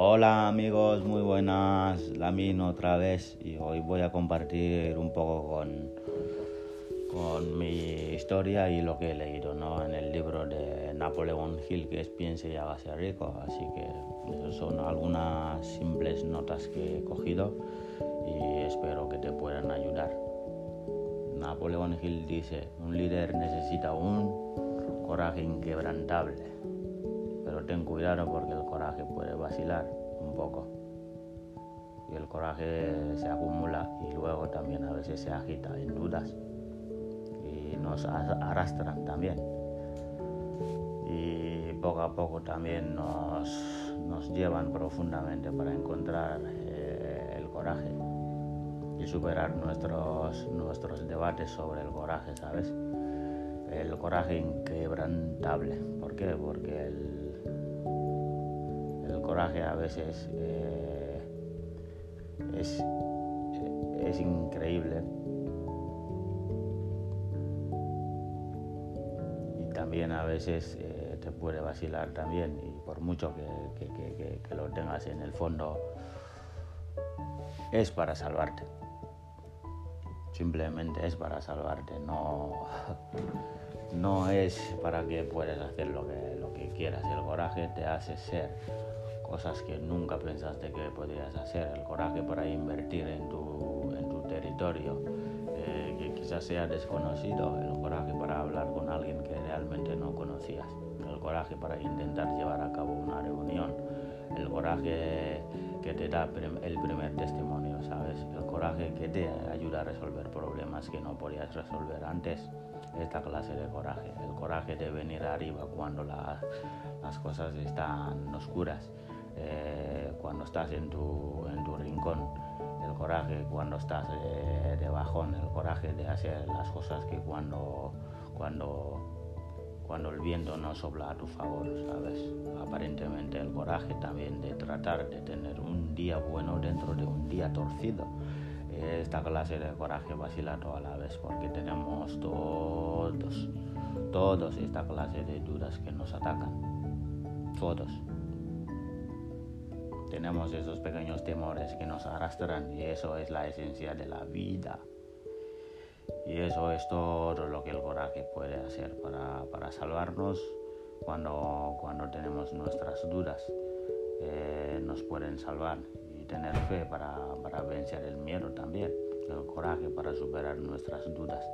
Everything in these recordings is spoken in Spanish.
Hola amigos, muy buenas, Lamin otra vez, y hoy voy a compartir un poco con mi historia y lo que he leído, ¿no? En el libro de Napoleon Hill, que es Piense y hágase rico. Así que esas son algunas simples notas que he cogido y espero que te puedan ayudar. Napoleon Hill dice: un líder necesita un coraje inquebrantable, pero ten cuidado porque el coraje puede vacilar un poco y el coraje se acumula y luego también a veces se agita en dudas y nos arrastran también, y poco a poco también nos llevan profundamente para encontrar el coraje y superar nuestros debates sobre el coraje, ¿sabes? El coraje inquebrantable. ¿Por qué? Porque el coraje a veces es increíble y también a veces te puede vacilar también, y por mucho que lo tengas en el fondo, es para salvarte. Simplemente es para salvarte, no es para que puedas hacer lo que quieras. El coraje te hace ser cosas que nunca pensaste que podrías hacer. El coraje para invertir en tu territorio, que quizás sea desconocido. El coraje para hablar con alguien que realmente no conocías. El coraje para intentar llevar a cabo una reunión. El coraje que te da el primer testimonio, ¿sabes? El coraje que te ayuda a resolver problemas que no podías resolver antes. Esta clase de coraje. El coraje de venir arriba cuando las cosas están oscuras. Cuando estás en tu rincón. El coraje cuando estás de bajón. El coraje de hacer las cosas que cuando el viento no sopla a tu favor, ¿sabes? Aparentemente el coraje también de tratar de tener un día bueno dentro de un día torcido. Esta clase de coraje vacila toda la vez, porque tenemos todos esta clase de dudas que nos atacan. Todos. Tenemos esos pequeños temores que nos arrastran, y eso es la esencia de la vida. Y eso es todo lo que el coraje puede hacer para salvarnos cuando tenemos nuestras dudas. Nos pueden salvar, y tener fe para vencer el miedo también. El coraje para superar nuestras dudas.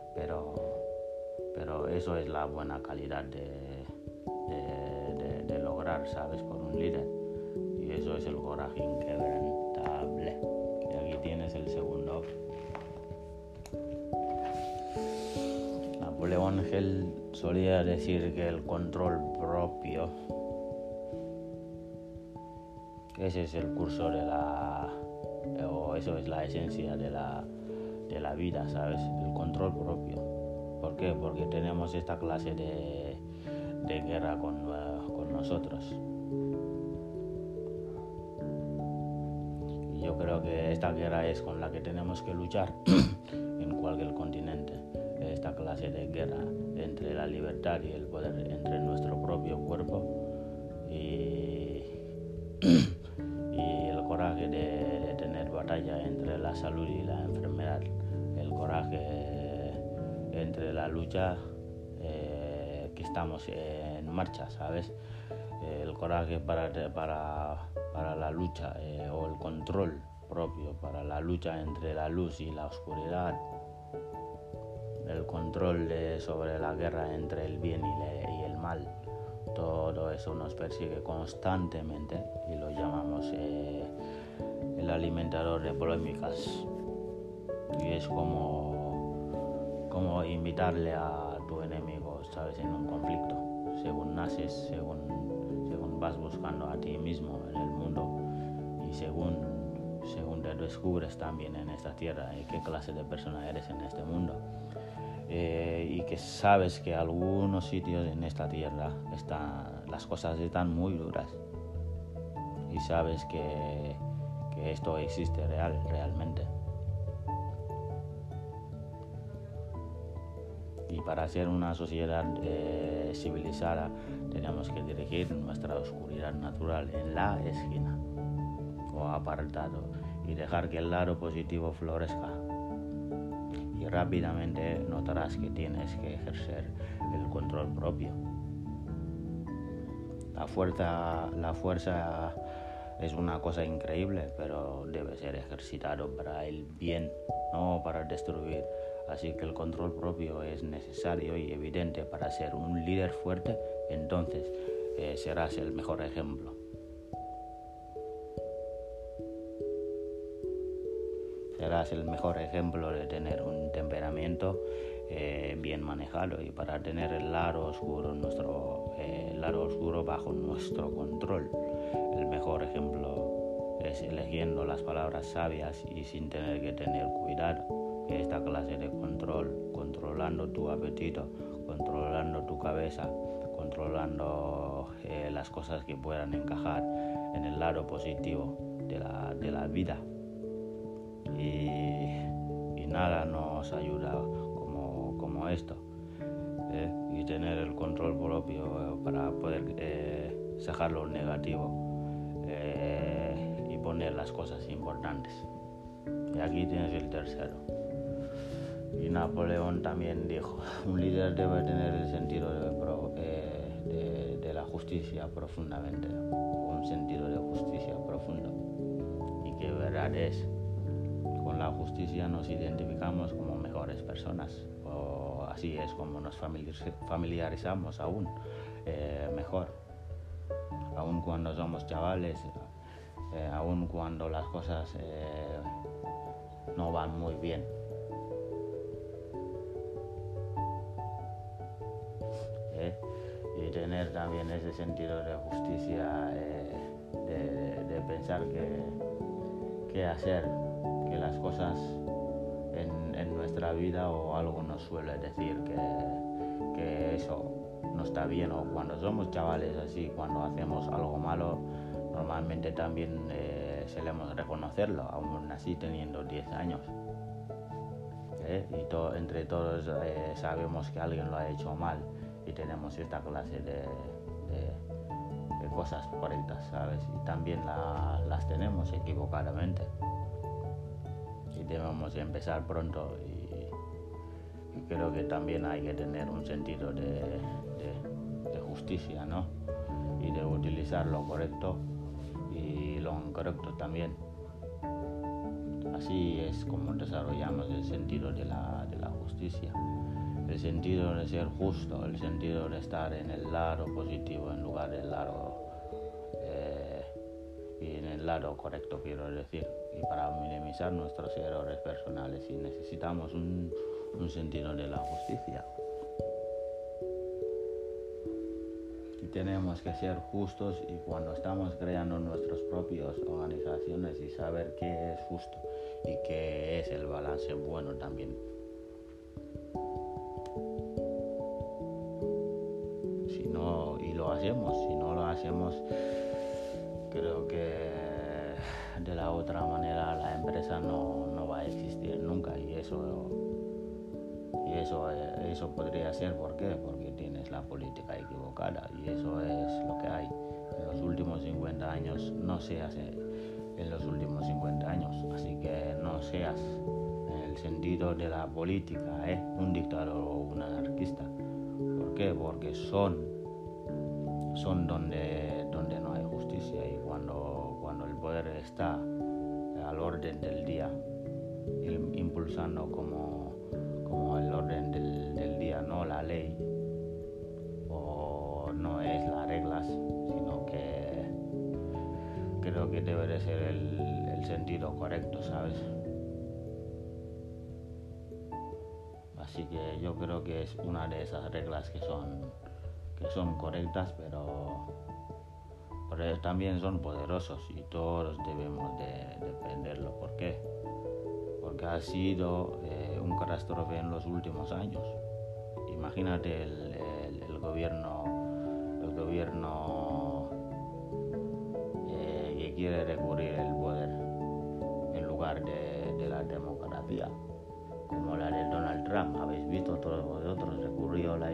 Pero eso es la buena calidad de lograr, ¿sabes? Por un líder. Y eso es el coraje inquebrantable. Y aquí tienes el segundo. Napoleon Hill solía decir que el control propio, ese es el curso o eso es la esencia de la vida, ¿sabes? El control propio. ¿Por qué? Porque tenemos esta clase de guerra con nosotros. Y yo creo que esta guerra es con la que tenemos que luchar en cualquier continente. Esta clase de guerra entre la libertad y el poder, entre nuestro propio cuerpo y el coraje de tener batalla entre la salud y la enfermedad. El coraje entre la lucha que estamos en marcha, ¿sabes? El coraje para la lucha, o el control propio para la lucha entre la luz y la oscuridad. El control sobre la guerra entre el bien y el mal. Todo eso nos persigue constantemente y lo llamamos el alimentador de polémicas. Y es como invitarle a tu enemigo, ¿sabes? En un conflicto. Según naces, según vas buscando a ti mismo en el mundo, y según te descubres también en esta tierra qué clase de persona eres en este mundo. Y que sabes que algunos sitios en esta tierra las cosas están muy duras, y sabes que esto existe realmente. Y para ser una sociedad civilizada tenemos que dirigir nuestra oscuridad natural en la esquina o apartado y dejar que el lado positivo florezca. Y rápidamente notarás que tienes que ejercer el control propio. La fuerza es una cosa increíble, pero debe ser ejercitado para el bien, no para destruir. Así que el control propio es necesario y evidente para ser un líder fuerte. Entonces serás el mejor ejemplo. Serás el mejor ejemplo de tener un temperamento bien manejado, y para tener el lado oscuro bajo nuestro control. El mejor ejemplo es eligiendo las palabras sabias y sin tener que tener cuidado. Esta clase de control, controlando tu apetito, controlando tu cabeza, controlando las cosas que puedan encajar en el lado positivo de la vida. Y nada nos ayuda como esto, y tener el control propio para poder sacar lo negativo y poner las cosas importantes. Y aquí tienes el tercero. Y Napoleón también dijo: un líder debe tener el sentido de la justicia profundamente, un sentido de justicia profundo. Y que verdad es, con la justicia nos identificamos como mejores personas, o así es como nos familiarizamos aún mejor, aún cuando somos chavales, aún cuando las cosas no van muy bien. Y tener también ese sentido de justicia, de pensar qué hacer, que las cosas en nuestra vida o algo nos suele decir que eso no está bien, o cuando somos chavales así, cuando hacemos algo malo, normalmente también solemos reconocerlo, aún así teniendo 10 años. Y entre todos sabemos que alguien lo ha hecho mal, y tenemos esta clase de cosas correctas, ¿sabes? Y también las tenemos equivocadamente. Y debemos empezar pronto, y creo que también hay que tener un sentido de justicia, ¿no? Y de utilizar lo correcto y lo incorrecto también. Así es como desarrollamos el sentido de la justicia, el sentido de ser justo, el sentido de estar en el lado positivo en lugar del lado y en el lado correcto, quiero decir. Y para minimizar nuestros errores personales, y necesitamos un sentido de la justicia. Y tenemos que ser justos, y cuando estamos creando nuestras propias organizaciones, y saber qué es justo y qué es el balance bueno también. Si no lo hacemos, creo que de la otra manera la empresa no va a existir nunca, y eso podría ser porque tienes la política equivocada, y eso es lo que hay. En los últimos 50 años no se hace en los últimos 50 años, así que no seas, en el sentido de la política, un dictador o un anarquista. ¿Por qué? Porque son donde no hay justicia, y cuando el poder está al orden del día, impulsando como el orden del día, no la ley, o no es las reglas, sino que creo que debe de ser el sentido correcto, ¿sabes? Así que yo creo que es una de esas reglas que son correctas, pero también son poderosos, y todos debemos de defenderlo. ¿Por qué? Porque ha sido un catástrofe en los últimos años. Imagínate el gobierno que quiere recurrir el poder en lugar de la democracia. como la del Donald Trump. Habéis visto todos vosotros, recurrió a la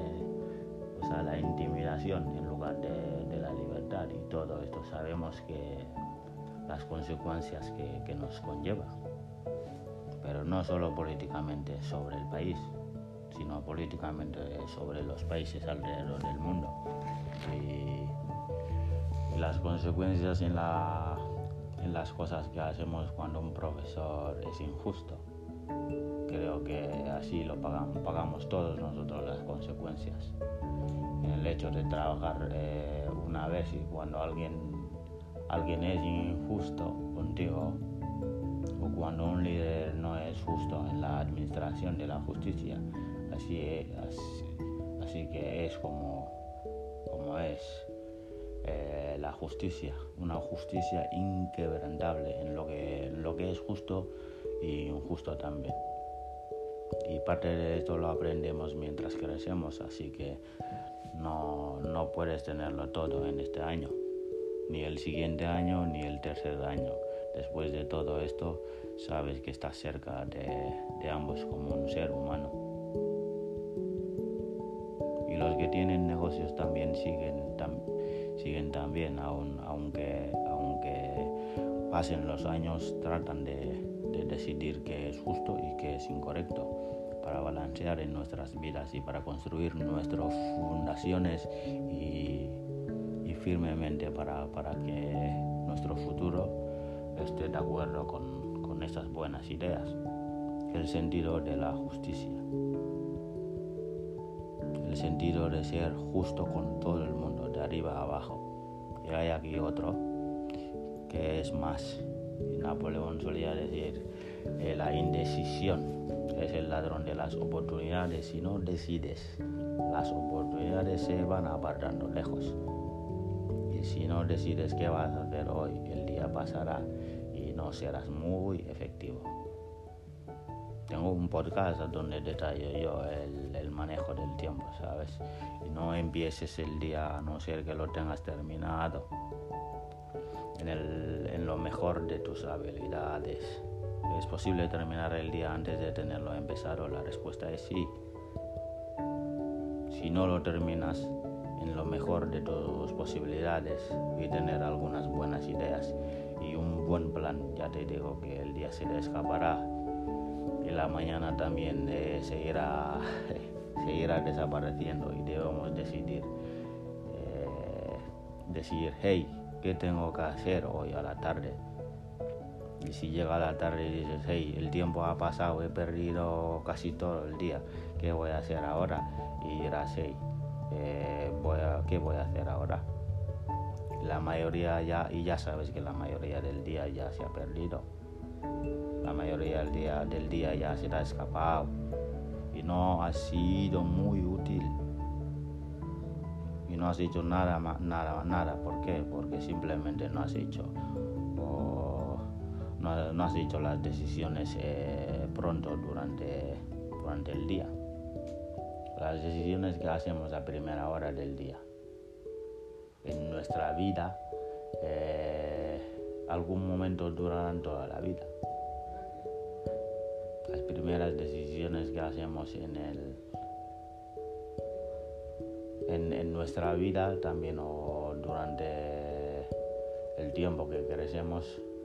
intimidación en lugar de la libertad, y todo esto sabemos que las consecuencias que nos conlleva, pero no solo políticamente sobre el país, sino políticamente sobre los países alrededor del mundo, y las consecuencias en las cosas que hacemos cuando un profesor es injusto. Creo que así lo pagamos todos nosotros las consecuencias. En el hecho de trabajar una vez, y cuando alguien es injusto contigo, o cuando un líder no es justo en la administración de la justicia, así que es como es la justicia, una justicia inquebrantable en lo que es justo y injusto también. Y parte de esto lo aprendemos mientras crecemos, así que no puedes tenerlo todo en este año, ni el siguiente año, ni el tercer año. Después de todo esto, sabes que estás cerca de ambos como un ser humano. Y los que tienen negocios también siguen también, aunque pasen los años, tratan de decidir qué es justo y qué es incorrecto, para balancear en nuestras vidas y para construir nuestras fundaciones y firmemente para que nuestro futuro esté de acuerdo con estas buenas ideas. El sentido de la justicia, el sentido de ser justo con todo el mundo, de arriba a abajo. Y hay aquí otro que es más. Napoleón solía decir, la indecisión es el ladrón de las oportunidades. Si no decides, las oportunidades se van apartando lejos. Y si no decides qué vas a hacer hoy, el día pasará y no serás muy efectivo. Tengo un podcast donde detallo yo el manejo del tiempo, ¿sabes? Y no empieces el día a no ser que lo tengas terminado en lo mejor de tus habilidades. ¿Es posible terminar el día antes de tenerlo empezado? La respuesta es sí. Si no lo terminas en lo mejor de tus posibilidades y tener algunas buenas ideas y un buen plan, ya te digo que el día se te escapará y la mañana también se irá desapareciendo, y debemos decidir, hey, ¿qué tengo que hacer hoy a la tarde? Y si llega la tarde y dices, hey, el tiempo ha pasado, he perdido casi todo el día, ¿qué voy a hacer ahora? Y dirás, hey, ¿qué voy a hacer ahora? La mayoría ya sabes que la mayoría del día ya se ha perdido. La mayoría del día ya se te ha escapado y no ha sido muy útil. Y no has hecho nada. ¿Por qué? Porque simplemente no has hecho las decisiones pronto durante el día. Las decisiones que hacemos a primera hora del día en nuestra vida, algún momento durarán toda la vida. Las primeras decisiones que hacemos en nuestra vida también, o durante el tiempo que crecemos,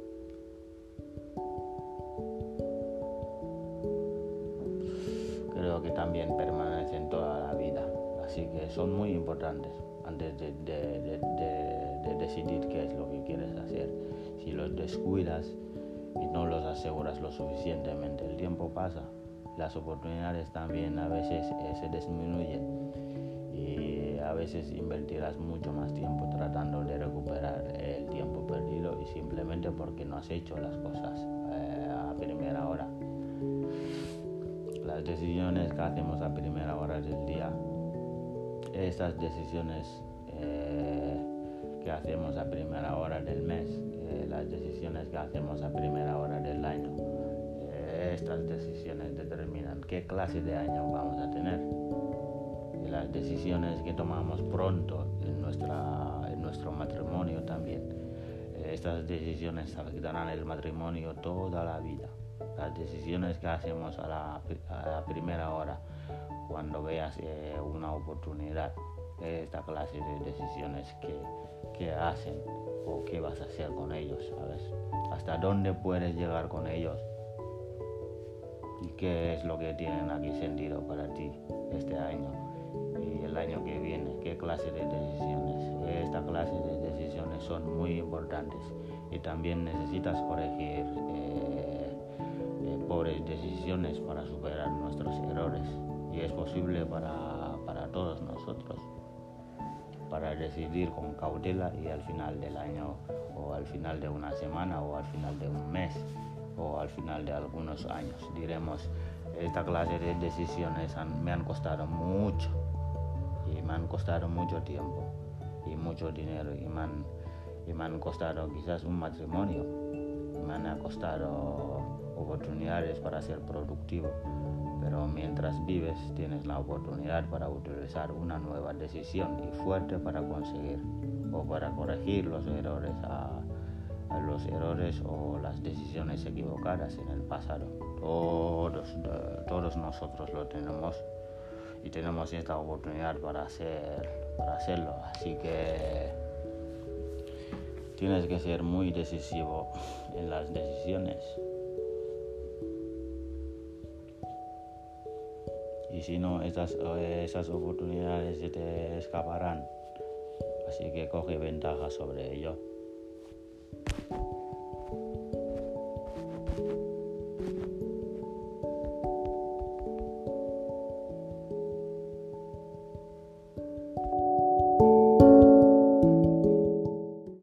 creo que también permanecen toda la vida. Así que son muy importantes antes de decidir qué es lo que quieres hacer. Si los descuidas y no los aseguras lo suficientemente, el tiempo pasa, las oportunidades también a veces se disminuyen, y a veces invertirás mucho más tiempo tratando de recuperar el tiempo perdido, y simplemente porque no has hecho las cosas a primera hora. Las decisiones que hacemos a primera hora del día, estas decisiones que hacemos a primera hora del mes, las decisiones que hacemos a primera hora del año, estas decisiones determinan qué clase de año vamos a tener. Y las decisiones que tomamos pronto en nuestro matrimonio también, estas decisiones afectarán el matrimonio toda la vida. las decisiones que hacemos a la primera hora, cuando veas una oportunidad, esta clase de decisiones que hacen o qué vas a hacer con ellos, ¿sabes? Hasta dónde puedes llegar con ellos y qué es lo que tienen aquí sentido para ti este año y el año que viene, qué clase de decisiones. Esta clase de decisiones son muy importantes y también necesitas corregir pobres decisiones para superar nuestros errores, y es posible para todos nosotros, para decidir con cautela y al final del año o al final de una semana o al final de un mes o al final de algunos años diremos: esta clase de decisiones me han costado mucho y me han costado mucho tiempo y mucho dinero y me han costado quizás un matrimonio, y me han costado oportunidades para ser productivo, pero mientras vives tienes la oportunidad para utilizar una nueva decisión y fuerte para conseguir o para corregir los errores los errores o las decisiones equivocadas en el pasado. Todos nosotros lo tenemos y tenemos esta oportunidad para hacerlo, así que tienes que ser muy decisivo en las decisiones. Y si no, esas oportunidades se te escaparán. Así que coge ventaja sobre ello.